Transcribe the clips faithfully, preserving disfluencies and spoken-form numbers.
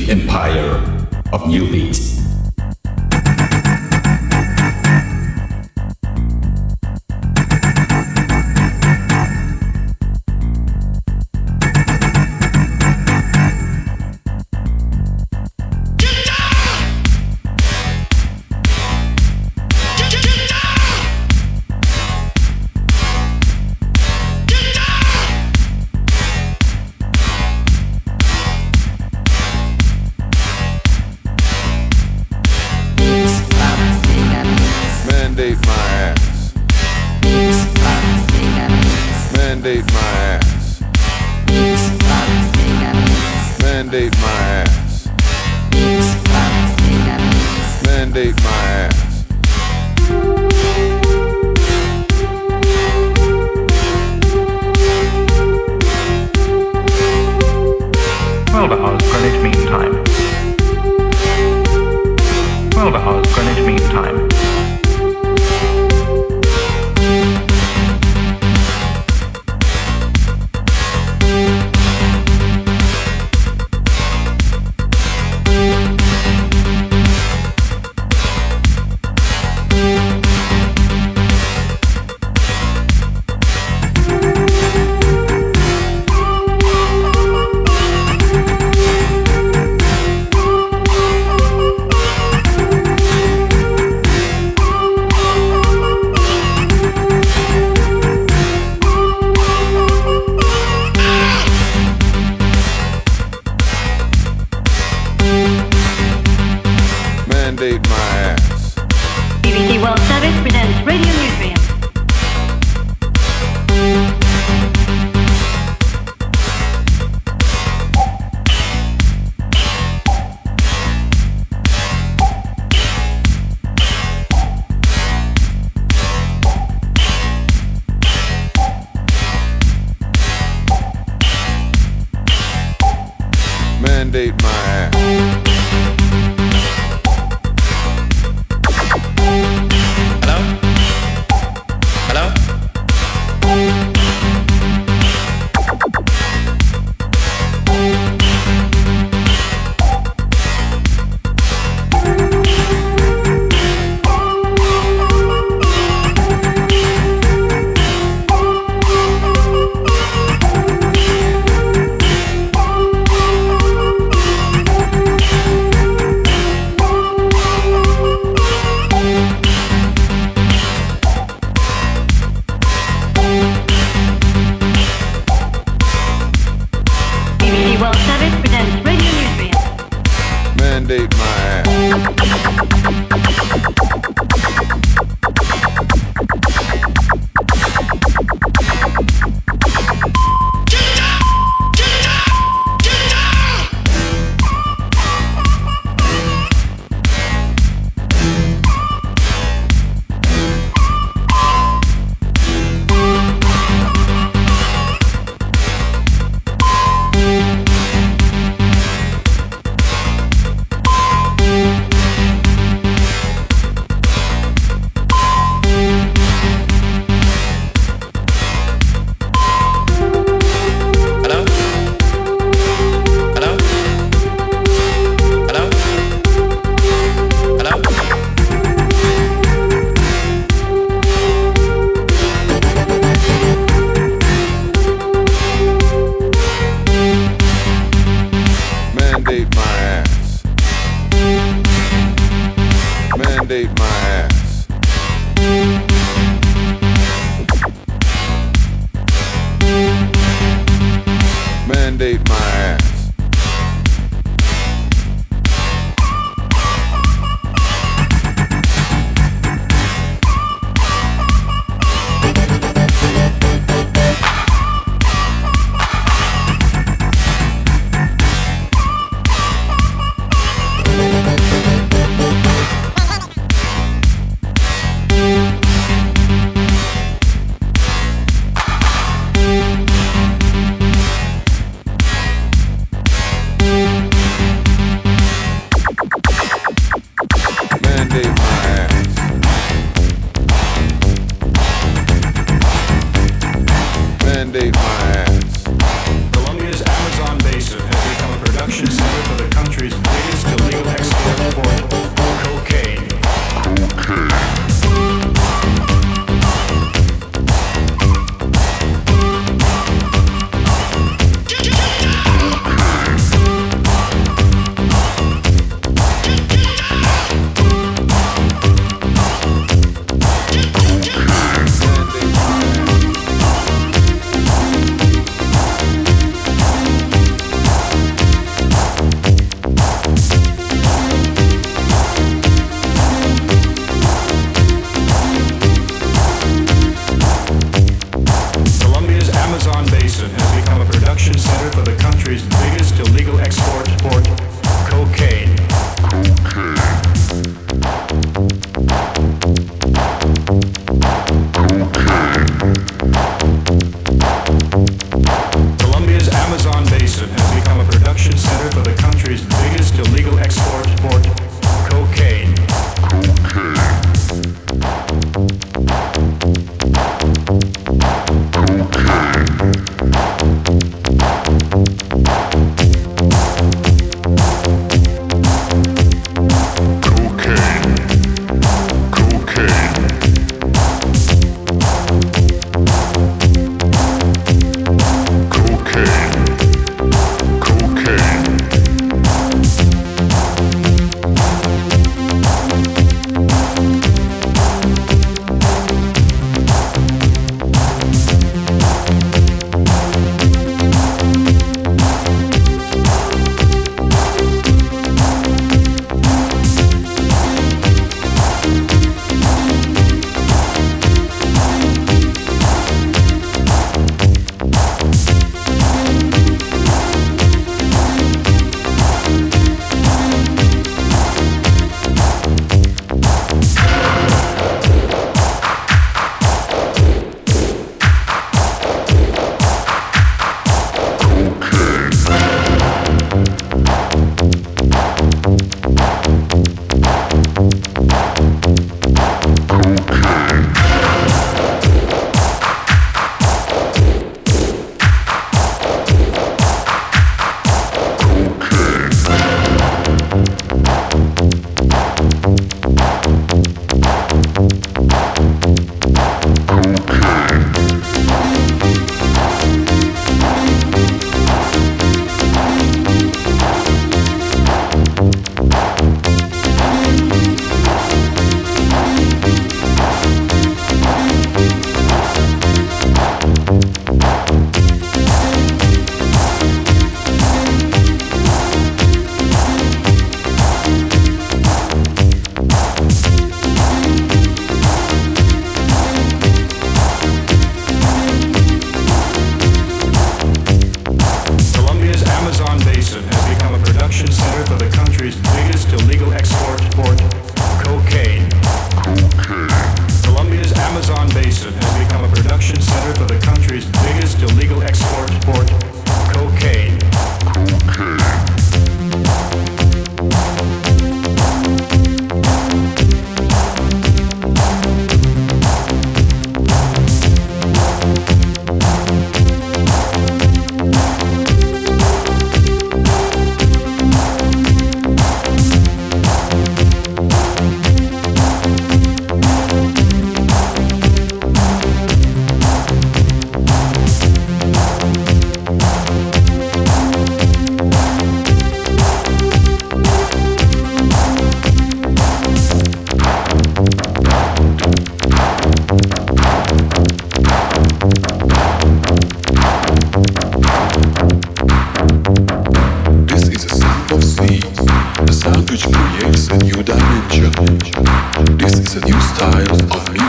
the empire of New Beat.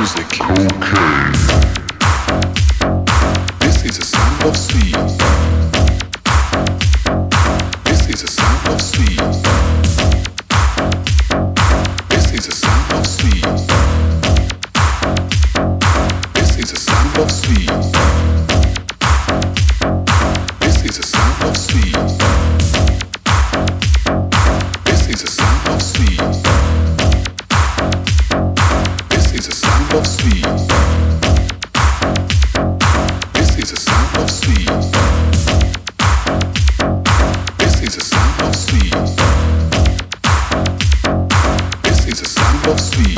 music. Cocaine. This is a sound of sea. This is a sound of sea. This is a sound of sea. This is a sound of sea. This is a sound of sea. This is a sound of sea. This is a sound of sea. This is a sound of sea. This is a sound of sea. This is a sound of sea.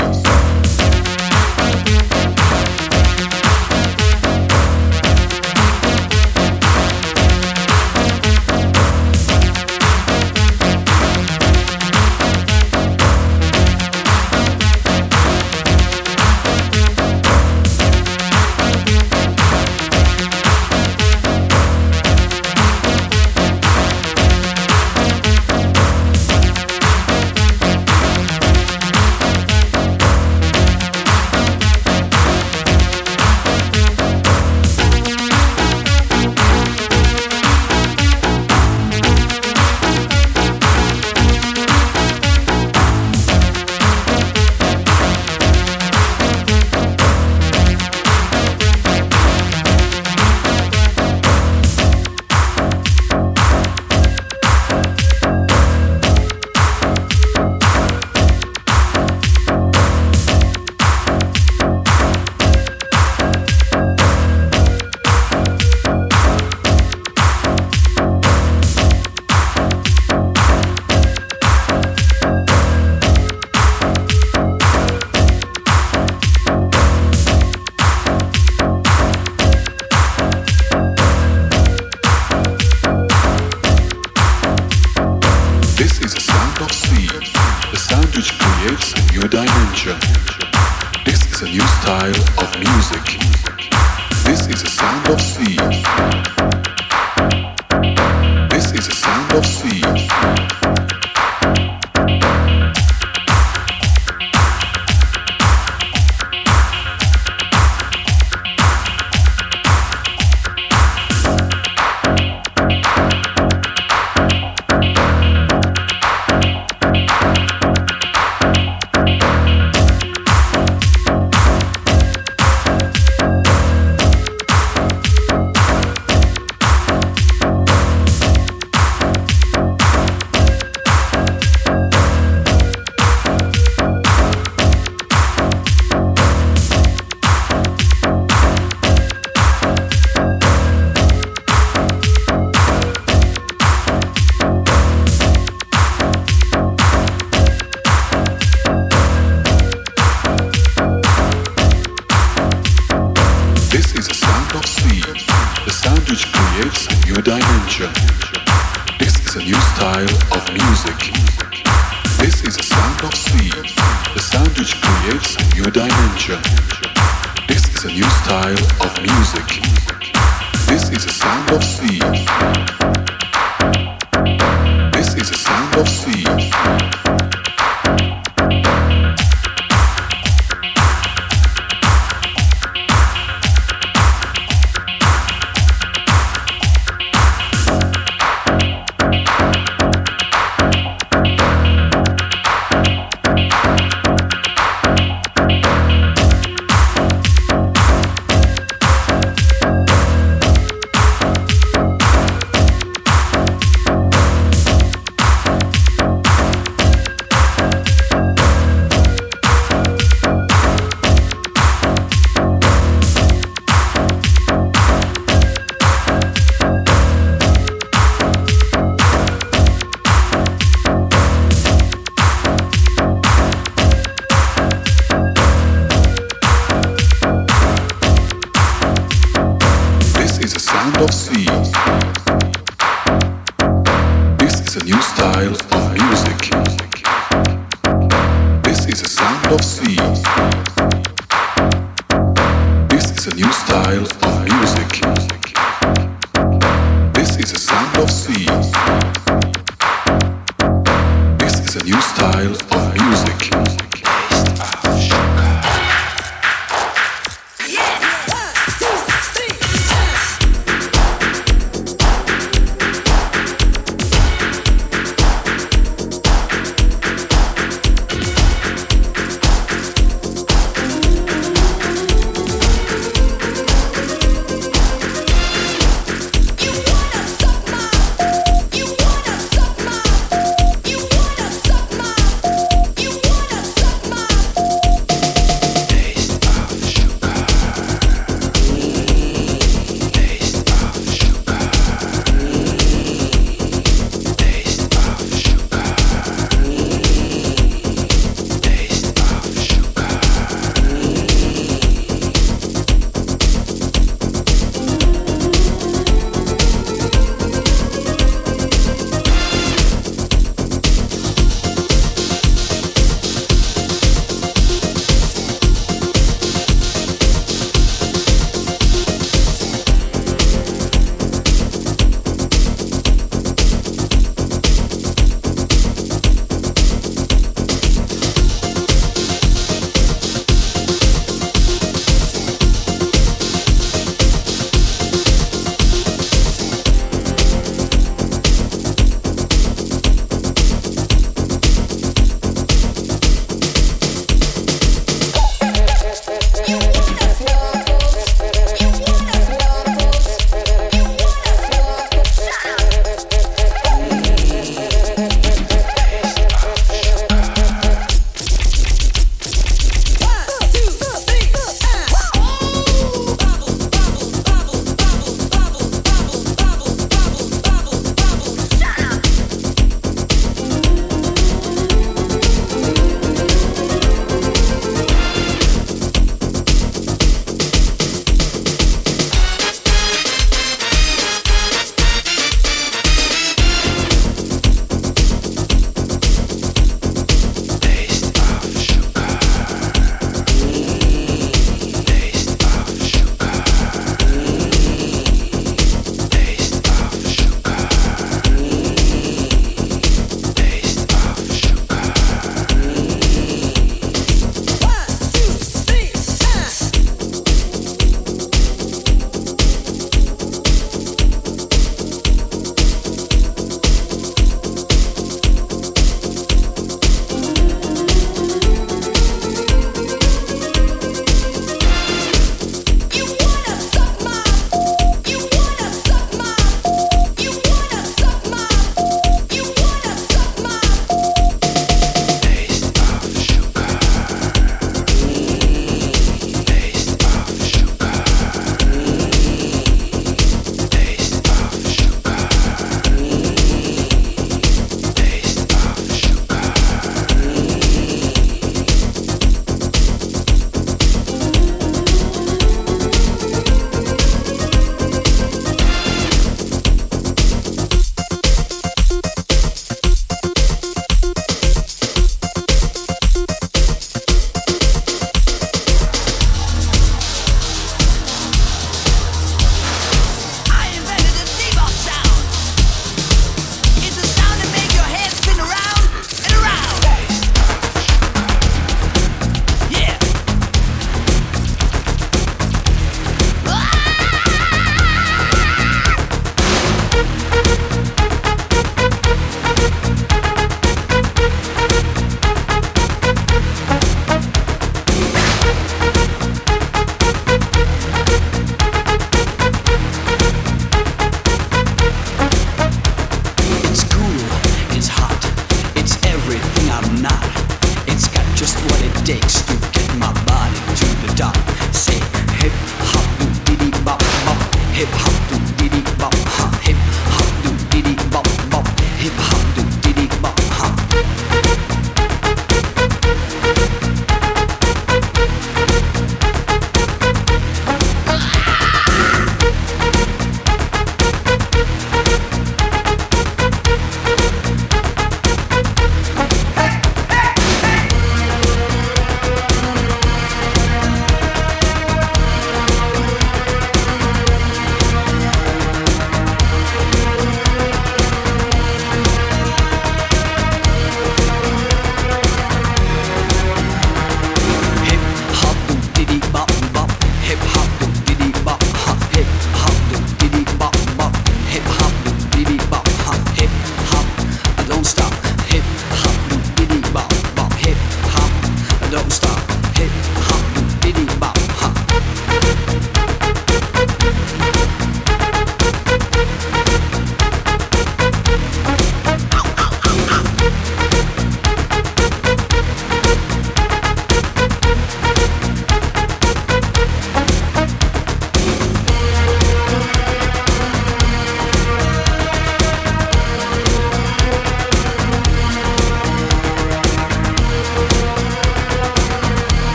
Style of music.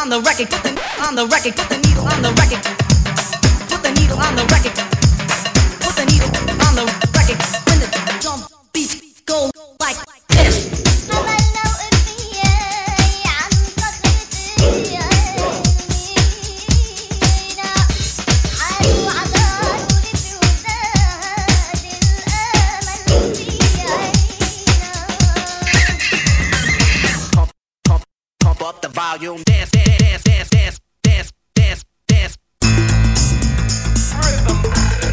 the record, put the on the record, put the needle on the record, put the needle on the record, put the needle on the record. When the drum beats go like this. Up the volume, dance, dance, dance, dance, dance, dance, dance. Rhythm.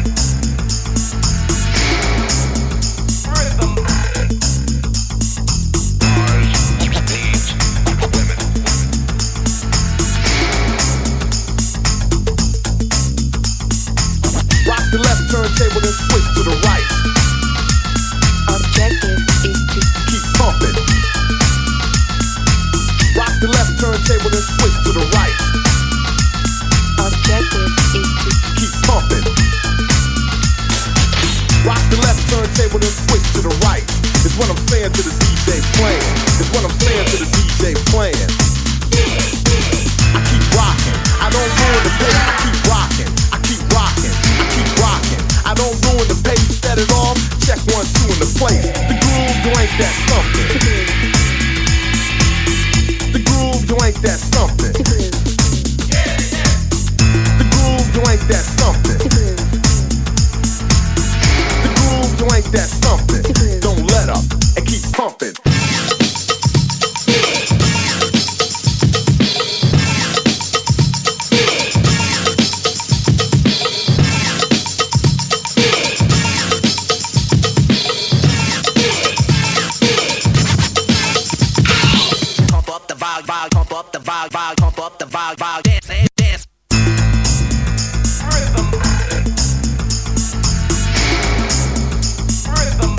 Rhythm. Bars, beats, women. Rock the left turntable, then switch to the right. Objective is to Keep pumping. Rock the left turntable, then switch to the right. Objective is to Keep pumping. Rock the left turntable, then switch to the right. It's what I'm saying to the D J playing. It's what I'm saying to the D J playing. I keep rocking. I don't ruin the pace. I keep rocking. I keep rocking. I keep rocking. I don't ruin the pace. Set it off. Check one, two in the place. The groove, you ain't that something. The groove, you ain't that something. to groove, The groove, you ain't that something. to groove, The groove, you ain't that something. Don't let up and keep pumping. Pump up the volume, volume, pump up the volume, volume, pump up the volume, volume, dance, dance, dance. Rhythm. Rhythm.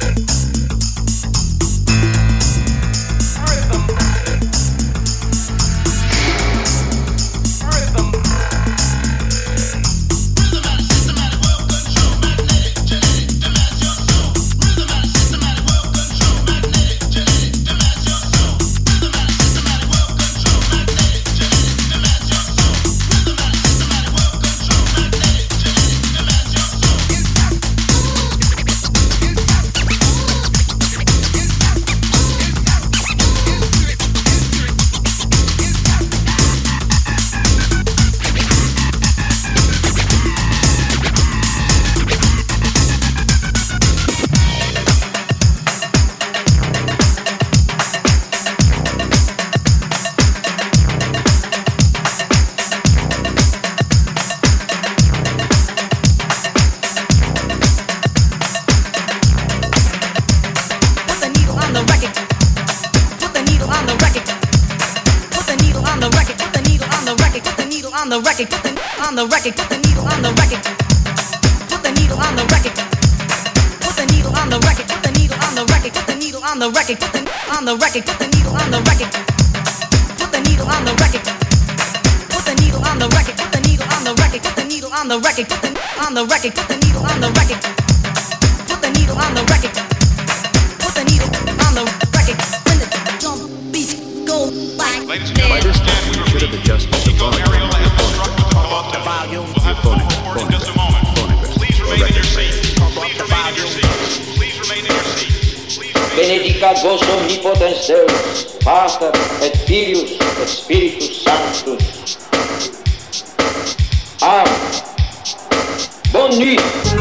Rhythm. Rhythm. Put the needle on the record. Put the needle on the record. Put the needle on the record. Put the needle on the record. Put the needle on the record. Put the on the record. Put the needle on the record. Put the needle on the record. Put the needle on the record. Put the needle on the record. Put the needle on the record. Put the on the record. Put the needle on the record. Put the needle on the record. Put the needle on the record. Put the needle on the record. Put the needle on the record. Put the on the record. Put the needle on the record. Put the needle on the record. Put the needle on the record. When the drum beats go like Ladies and gentlemen, understand we should have adjusted the volume. Aerial and instructor to come up The volume. We'll have phone forward in just a moment. Please remain in your seat. Please remain in your seat. Please remain in your seat. Please remain Benedicat vos omnipotens Deus, Pater et Filius et Spiritus Sanctus. Amen. Bonne nuit.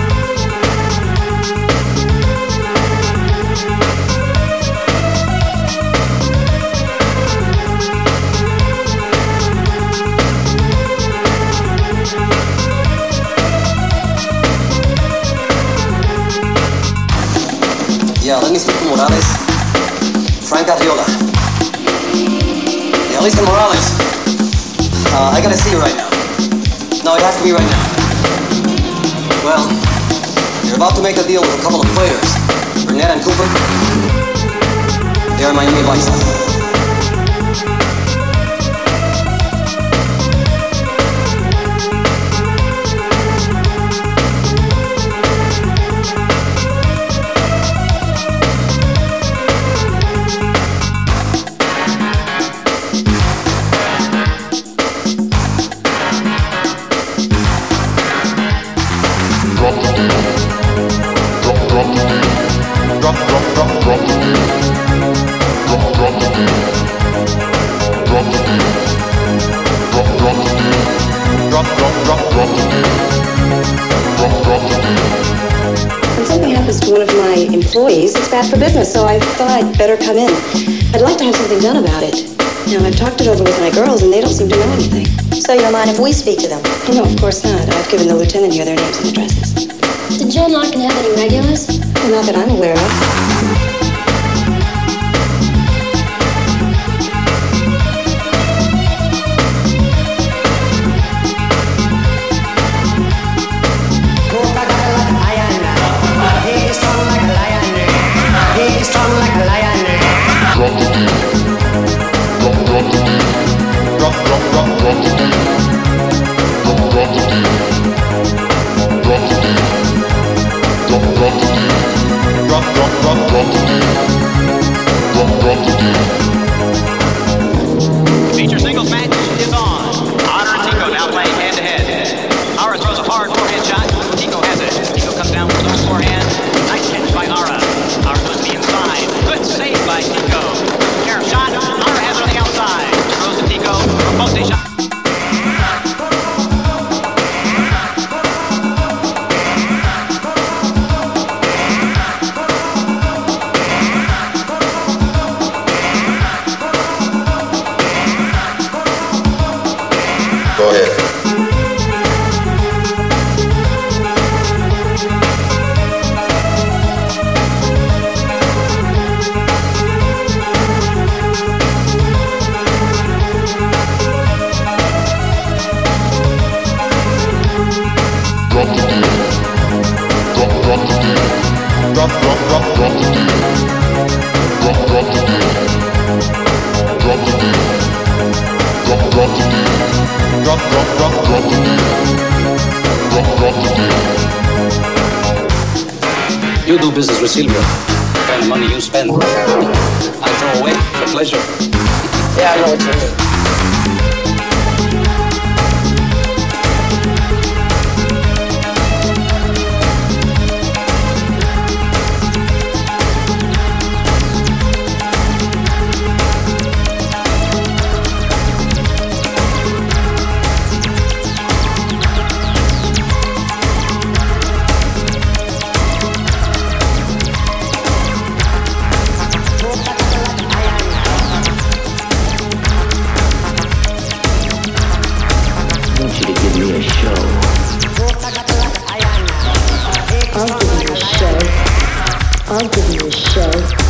Yeah, let me speak to Morales. Frank Arriola. Yeah, listen, Morales. Uh, I gotta see you right now. No, it has to be right now. Well, you're about to make a deal with a couple of players, Burnett and Cooper. They're Miami Vice. Drop, drop, drop, drop the beat. Drop, drop the beat. Drop the beat. Drop, drop the beat. Drop, drop, drop, drop the beat. Drop, drop the beat. When something happens to one of my employees, it's bad for business, so I thought I'd better come in. I'd like to have something done about it. Now, I've talked it over with my girls, and they don't seem to know anything. So you don't mind if we speak to them? Oh, no, of course not. I've given the lieutenant here their names and addresses. Did Joe not gonna have any regulars? Well, not that I'm aware of. Drop the beat. Drop, drop the beat. Drop, drop, drop, drop the beat. Drop, drop the beat. Drop the beat. Drop, drop the beat. Drop, drop, drop, drop the beat. Drop, drop the beat. Feature singles match is on. Honor and Tico now playing head to head. Ara throws a hard forehand shot. Tico has it. Tico comes down with those forehand. Nice catch by Ara. Ara goes to the inside. Good save by Tico. Carry shot. Ara has it on the outside. Throws to Tico. Post a shot. Go ahead. Drop the beat. Drop, drop the beat. Drop, drop, drop, drop the beat. Drop, drop the beat. Drop the beat. Drop, drop the beat. Drop, drop, drop, drop the beat. Drop, drop the beat. You do business with Silvio. The kind of money you spend, I throw away for pleasure. Yeah, I know what you mean. I'll give you a show.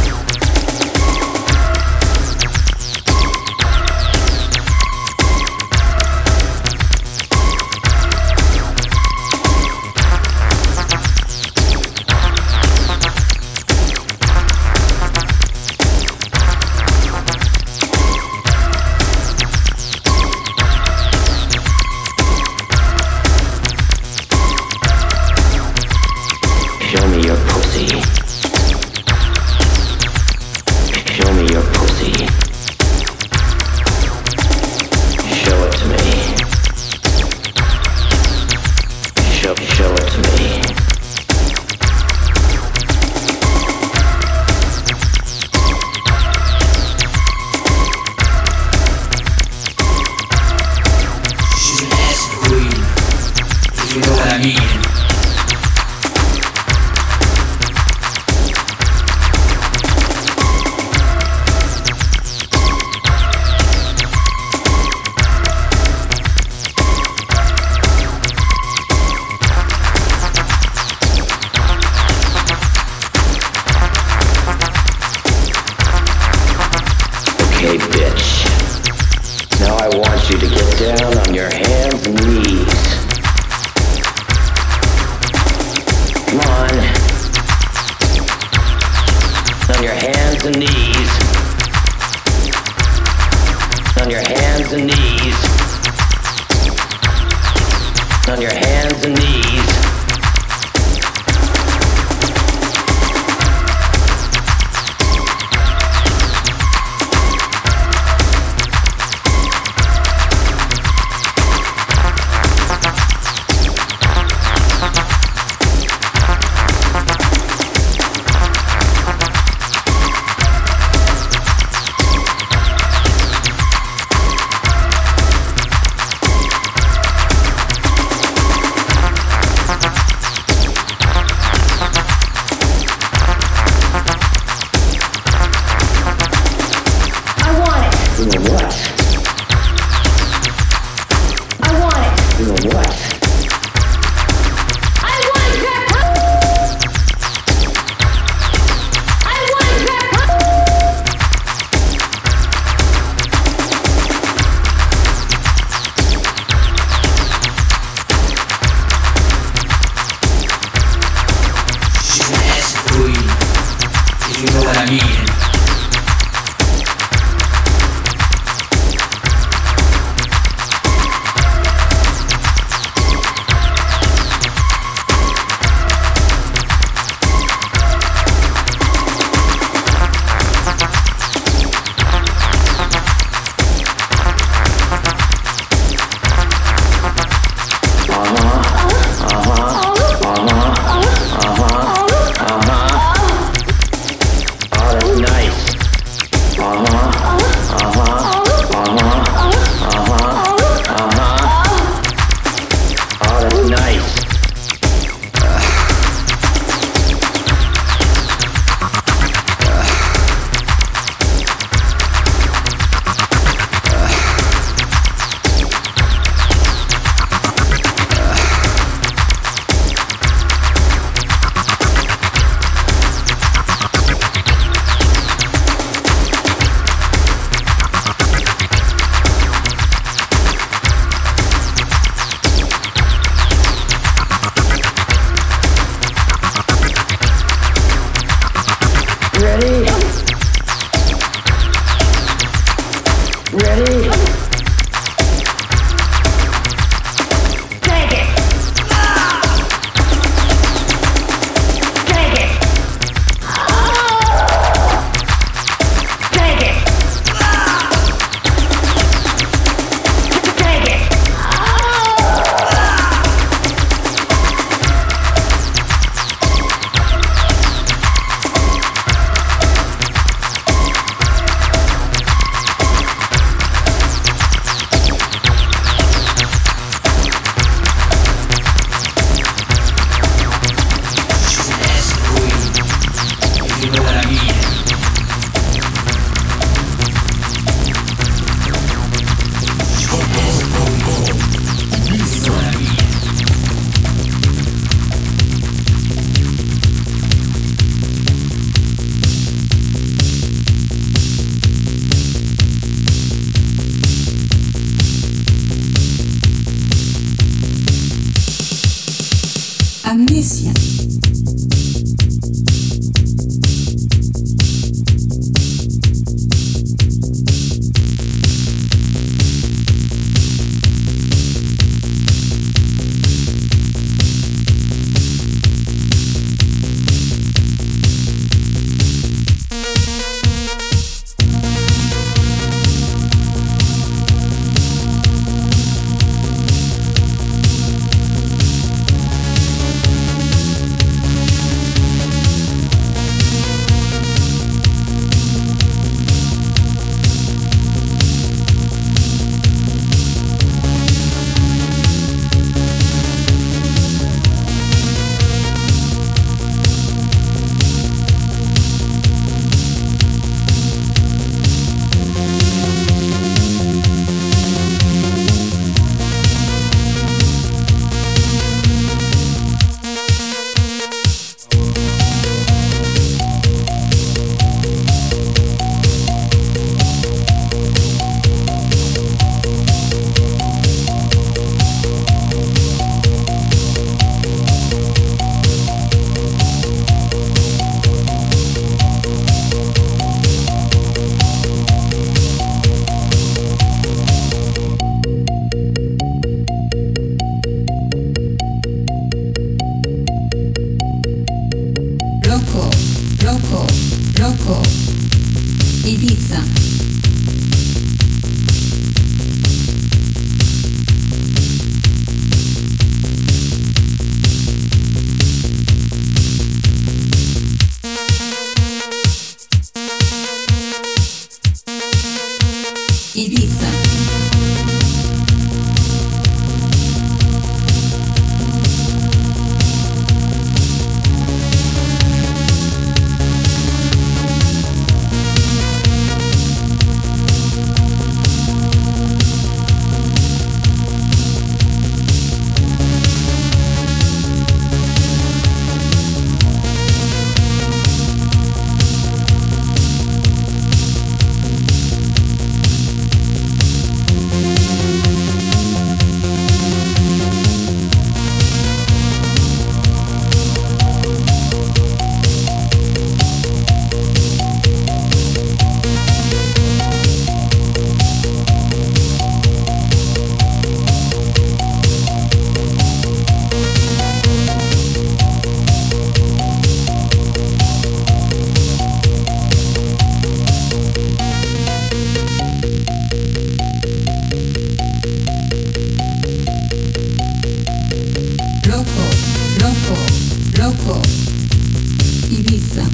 Show me your pussy. Show me your pussy. Show it to me. Show, show it to me. She's an acid queen, if you know what I mean. Okay, bitch. Now I want you to get down on your hands and knees. Come on. On your hands and knees. On your hands and knees. On your hands and knees. you know what I mean. Amnesia. Ibiza.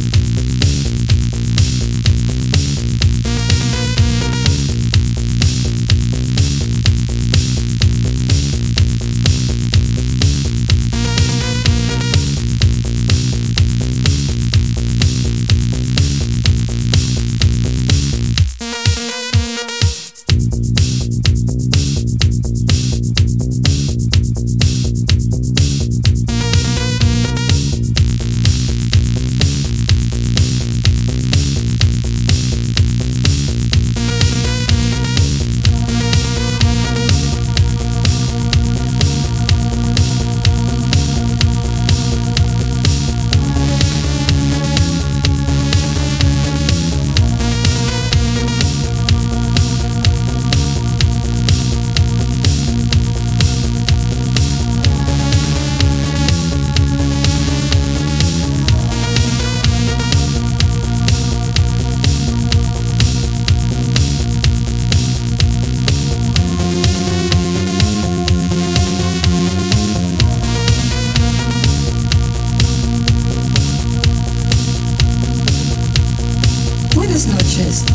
Buenas noches.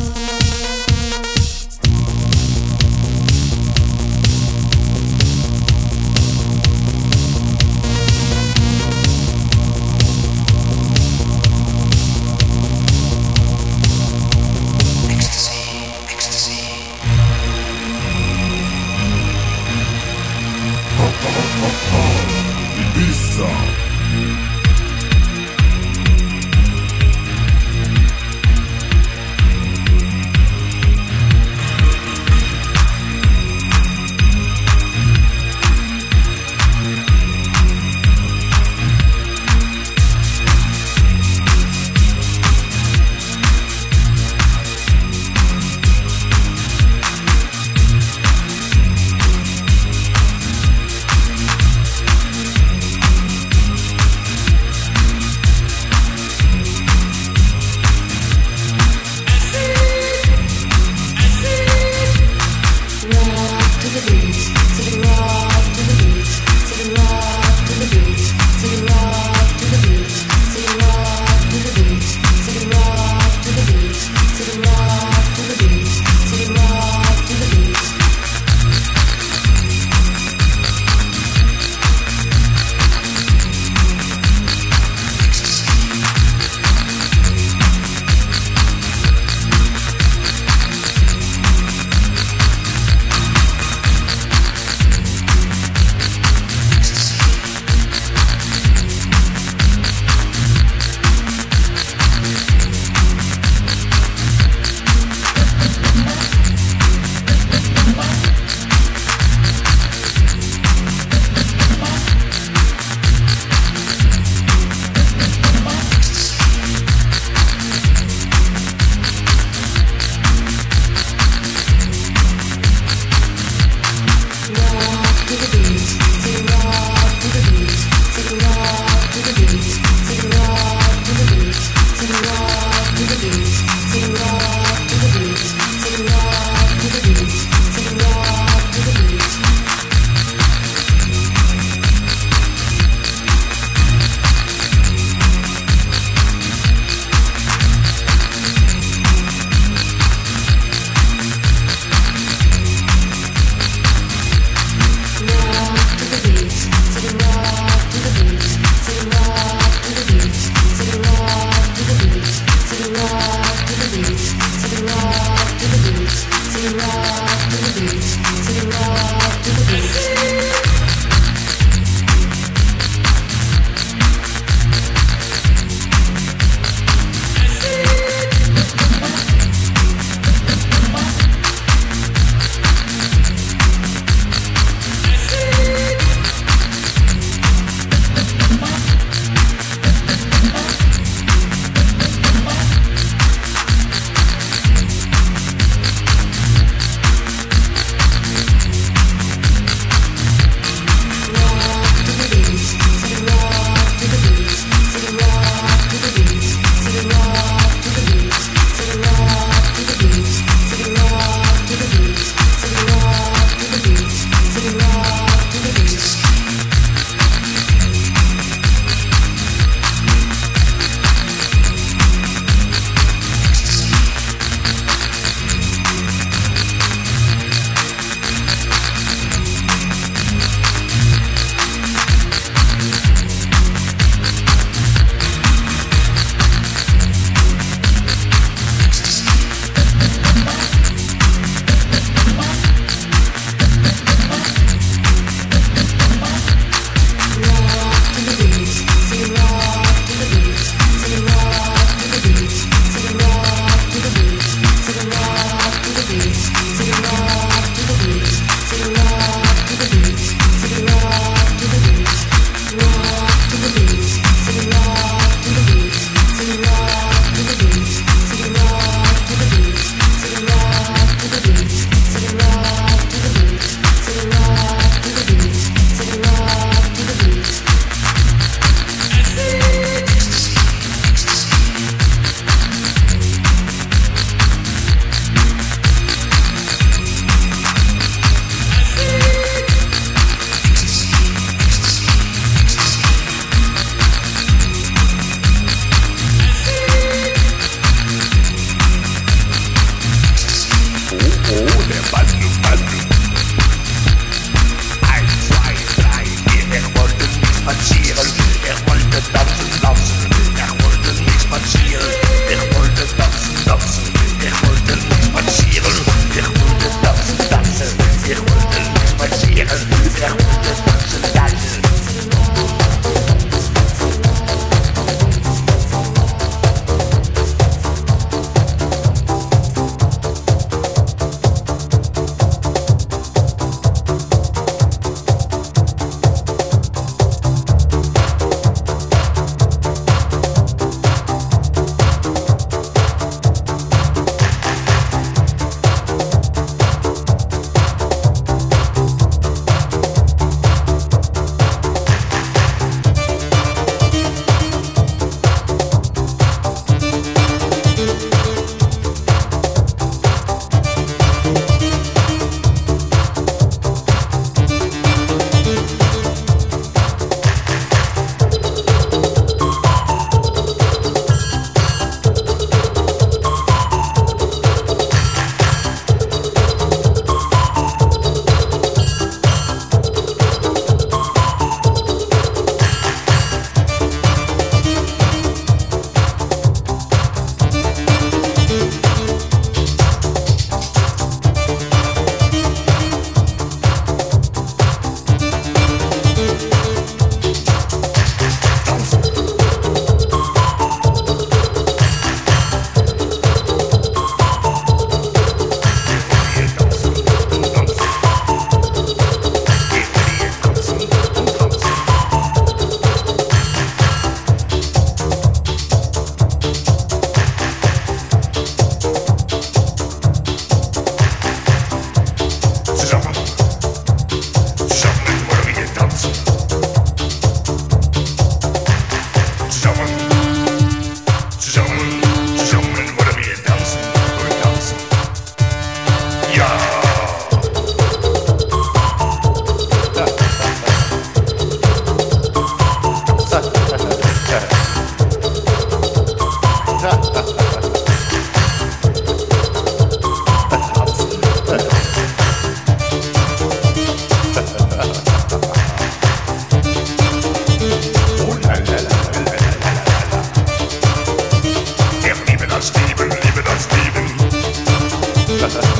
Ibiza.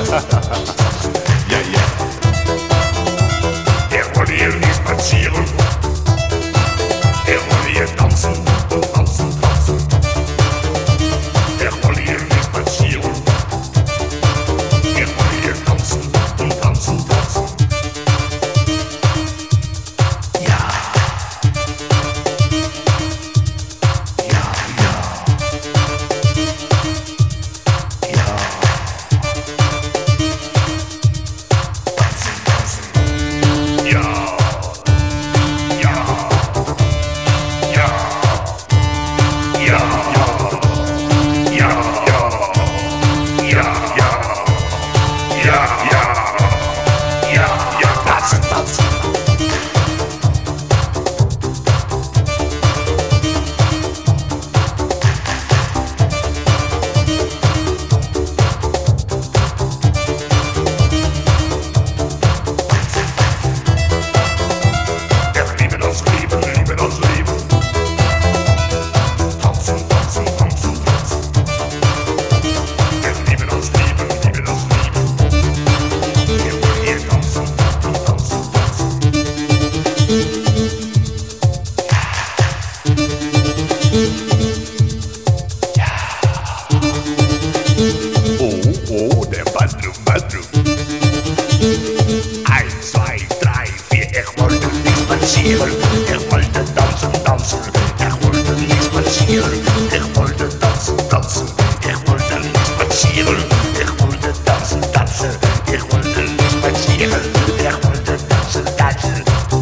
Ja, ja. Er wollte hier nicht spazieren. Er wollte hier tanzen und tanzen, tanzen. Er wollte hier nicht spazieren. Er wollte hier tanzen und tanzen, tanzen. Ja. Ja, ja. Ja. Tanzen, tanzen. Ja. Ja. Ja. Ja. Ja. Ja. Ja. Ja. Ja. Ja. Ja. Ja. Tanzen, tanzen. Er liebe das Leben, liebe das Leben. Tanzen, tanzen, tanzen, tanzen. Er liebe das Leben, liebe das Leben. Er will hier tanzen und tanzen, tanzen. Oh, oh, der Badrum, Badrum. Eins, zwei, drei, vier, ich wollte nicht spazieren. Ich wollte tanzen, tanzen. Ich wollte nicht spazieren. Ich wollte tanzen, tanzen. Ich wollte nicht spazieren. Ich wollte tanzen, tanzen. Ich wollte nicht spazieren. Ich wollte tanzen, tanzen.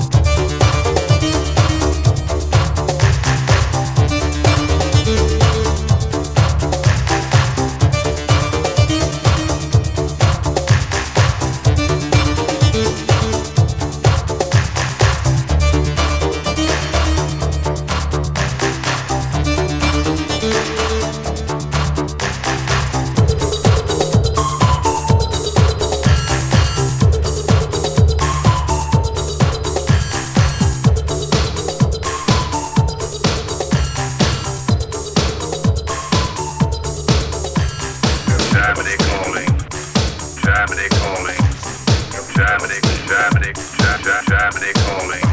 Germany calling, Germany calling, Germany, Germany, Ger- Ger- Germany calling.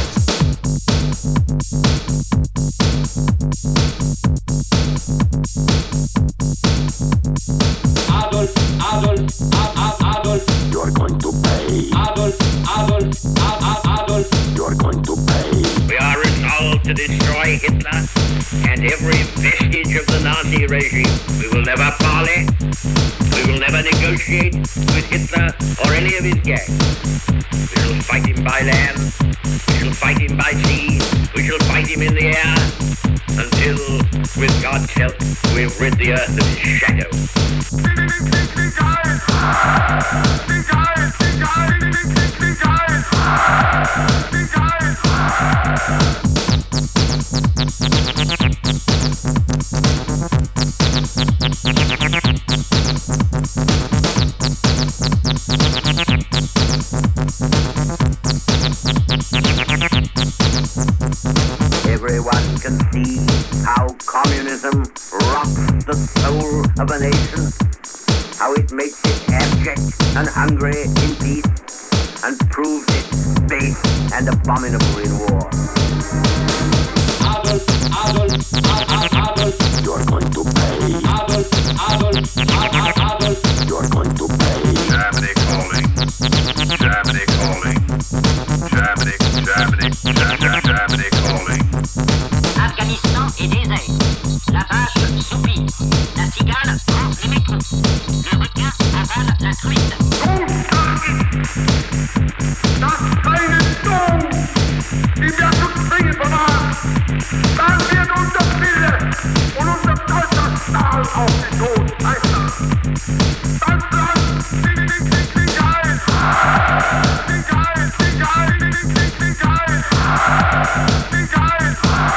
Adolf, Adolf, Adolf, Adolf. You're going to pay. Adolf, Adolf, Adolf, Adolf. You're going to pay. We are resolved to destroy Hitler and every vestige of the Nazi regime. We will never parley. We will never negotiate with Hitler or any of his gang. We shall fight him by land. We shall fight him by sea. We shall fight him in the air until, with God's help, we've rid the earth of his shadow. Everyone can see how communism rots the soul of a nation, how it makes it abject and hungry in peace, and proves it base and abominable in war. Adolf, Adolf, Adolf, Adolf. You're going to pay. Adolf, Adolf, Adolf, Adolf. You're going to pay. Germany calling, Germany calling, Germany, Germany, Germany, Germany calling. Afghanistan est désert. La vache soupire. La cigale mange les métros. Le requin avale la truite. Das eine Sturm, die wir zu zwingen vermag, dann wird unser Wille und unser stolzer Stahl auf den Tod einschlagen. Das Land liegt nicht nicht nicht ein. Nicht ein, nicht ein, nicht nicht nicht ein. Nicht ein.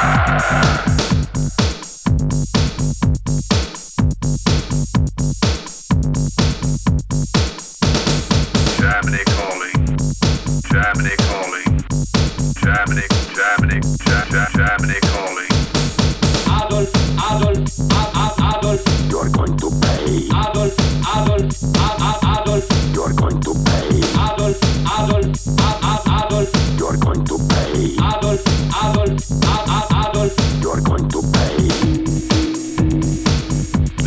Germany calling, Germany calling, Germany, Germany, Ger- Ger- Germany calling. Adolf, Adolf, Adolf, Adolf. You're going to pay. Adolf, Adolf, Adolf, Adolf.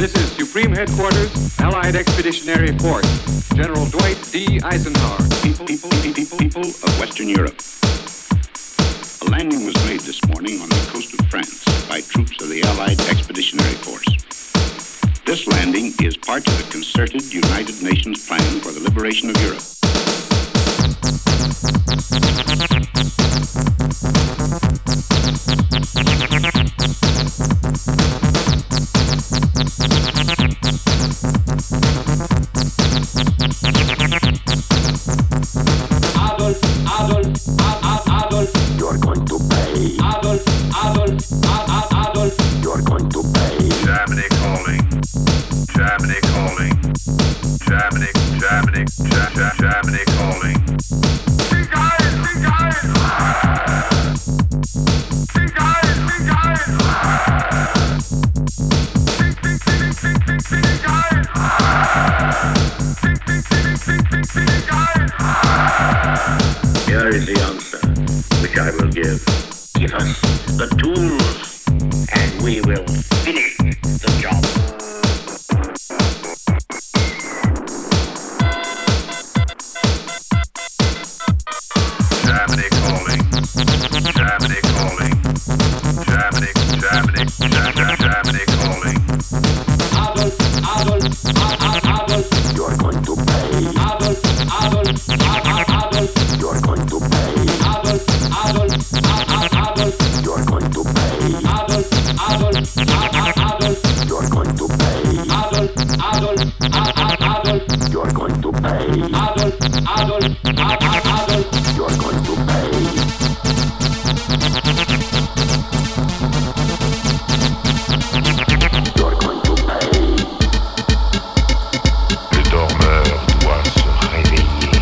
This is Supreme Headquarters, Allied Expeditionary Force, General Dwight D. Eisenhower. People, people, people, people of Western Europe. A landing was made this morning on the coast of France by troops of the Allied Expeditionary Force. This landing is part of the concerted United Nations plan for the liberation of Europe. Adolf, Adolf, Adolf, Adolf. You're going to pay. Adolf, Adolf, Adolf, Adolf. You're going to pay. Germany calling. Germany calling. Germany, Germany, Germany, Germany calling. Big eyes, big eyes. Big eyes, big eyes. Big, big, big, big, big, big eyes. Big, big, big, big, big, big eyes. Here is the answer, which I will give. Give us the tools, and we will finish the job. Germany calling. Germany calling. Germany, Germany, Germany, Germany calling. Adolf, Adolf, Adolf, Adolf. You're going to pay. Adolf, Adolf, Adolf, Adolf. You're going to pay. Adolf, Adolf, Adolf, Adolf. You're going to pay. Adolf, Adolf, Adolf, Adolf. You're going to pay. Adolf, Adolf, Adolf, Adolf. You're going to pay. Adolf, Adolf, Adolf, Adolf. You're going to pay. You're going to pay. Le dormeur doit se réveiller.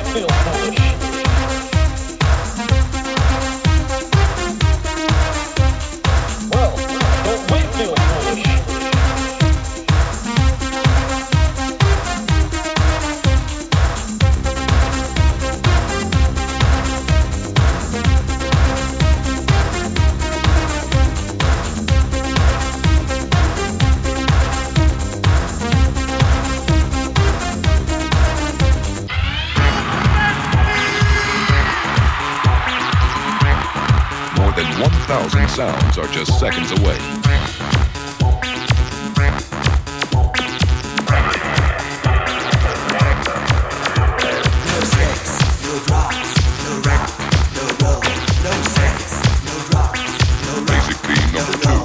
feel foolish? Well, don't we feel foolish? More than one thousand sounds are just seconds away. No sex, no drugs, no rock, no roll. No sex, no drugs, no rock. Basic theme number two.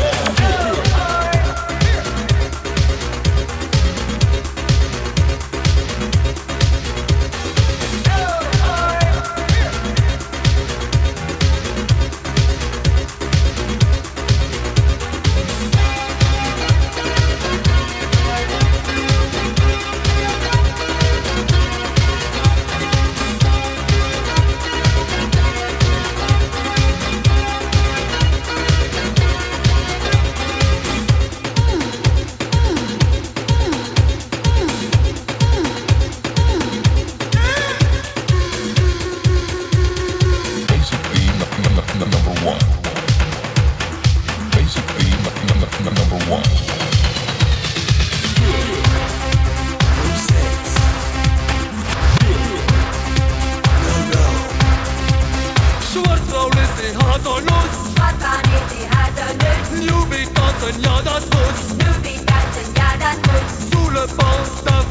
Basic theme num- num- num- number one. Basic theme num- num- num- number one. No sex, no roll. Schwarzfrau lässt die Haare los. Schwarzfahren ist die Hase nützt. Newbie tanzen, ja das muss. Newbie tanzen, ja das muss. Sous le pont, da